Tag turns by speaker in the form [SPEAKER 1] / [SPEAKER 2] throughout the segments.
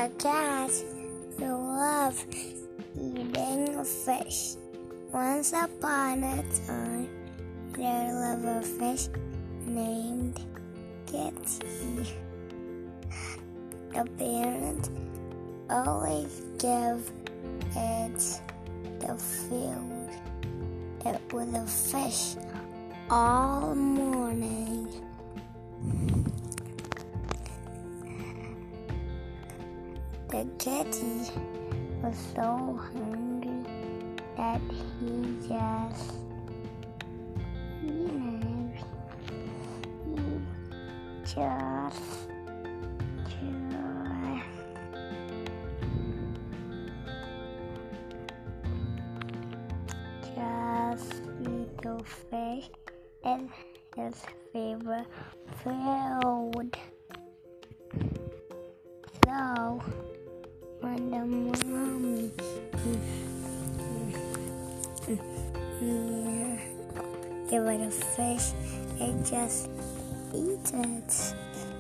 [SPEAKER 1] A cat who loved eating fish. Once upon a time, there lived a fish named Kitty. The parent always gave it the food. It was a fish all morning. The kitty was so hungry that he just eat the fish and his favorite food. So when the mommy give it a fish, it just eats it.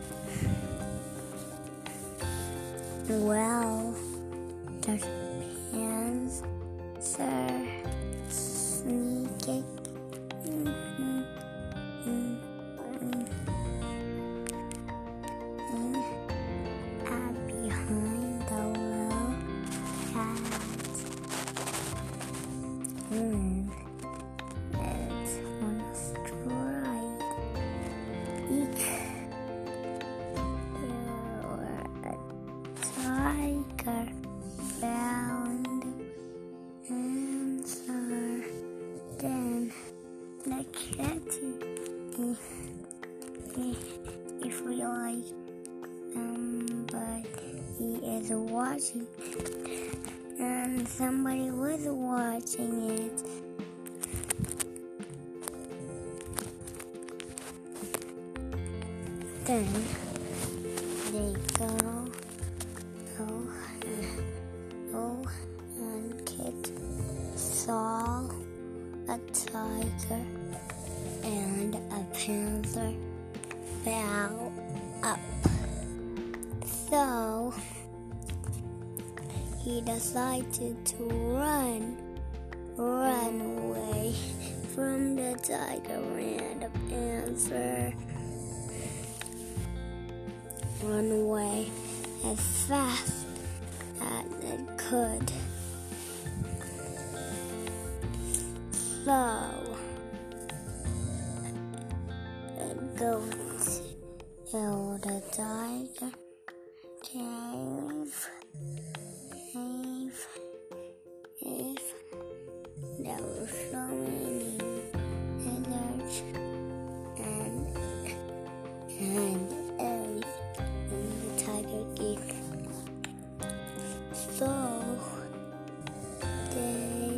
[SPEAKER 1] Well, the parents are sneaking behind the little cat. It's on a strike. Each tiger found answer. Then the kitty if we like somebody is watching and somebody was watching it. Then they go and Kit saw a tiger and a panther fell up. So he decided to run away from the tiger and the panther. Run away as fast as it could. So it goes to the tiger cave. There were so many lizards and everything in the tiger cave. So they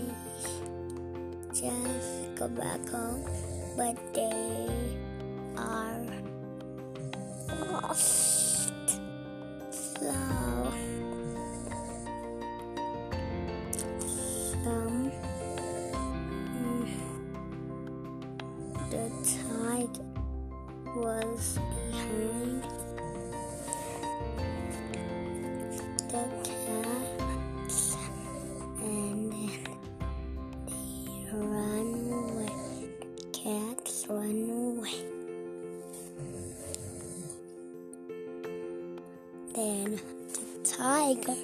[SPEAKER 1] just go back home, but they are lost. So the tiger was behind the cats, and then they run away. Cats run away. Then the tiger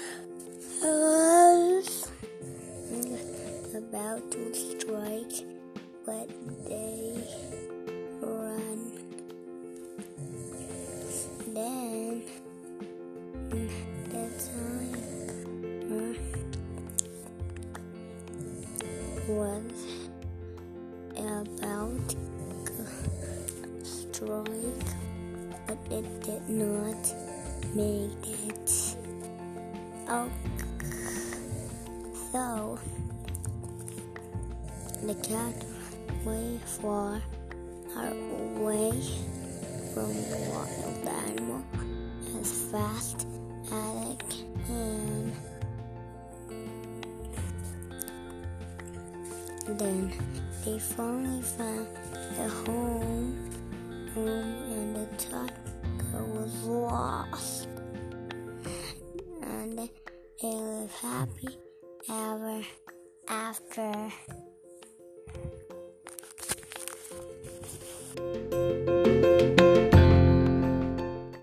[SPEAKER 1] was about to strike, but they run. Then the tiger was about to strike, but it did not make it. So the cat way far away from the wild animal as fast as it can. Then they finally found a home and the tiger was lost. they live happy ever after.